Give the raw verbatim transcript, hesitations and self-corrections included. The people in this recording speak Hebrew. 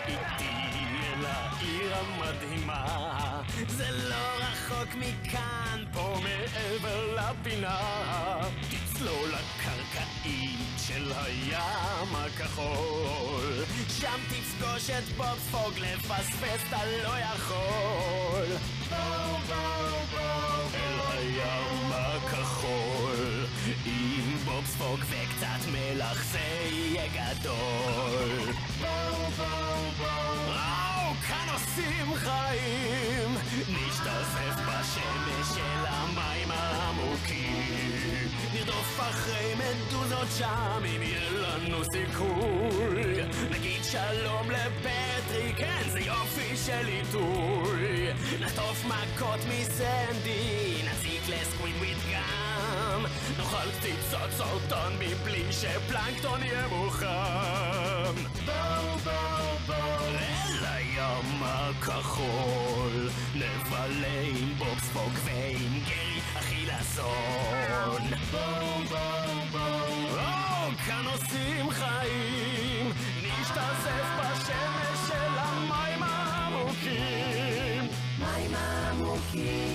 איתי אל העיר המדהימה, זה לא רחוק מכאן, פה מעבר לפינה. תצלול לקרקעית של הים הכחול, שם תפגוש את בובספוג, לפספס אתה לא יכול. בואו בואו בואו אל הים הכחול, עם בובספוג וקצת מלח זה יהיה גדול. בואו בואו בואו, כאן עושים חיים, נשתזף בשמש של המים העמוקים, נרדוף אחרי מדוזות שם אם יהיה לנו סיכוי. נגיד שלום לפטרי, כן זה יופי של עיתוי, נחטוף מכות מסנדי, נציק לסקווידוויד גם, נאכל קציצות סרטון מבלי שפלנקטון יהיה מוכן. בואו בואו בואו אל הים הכחול, נבלה עם בובספוג ועם גרי החילזון. בואו בואו בואו, כאן עושים חיים, נשתזף בשמש של המים העמוקים. מים עמוקים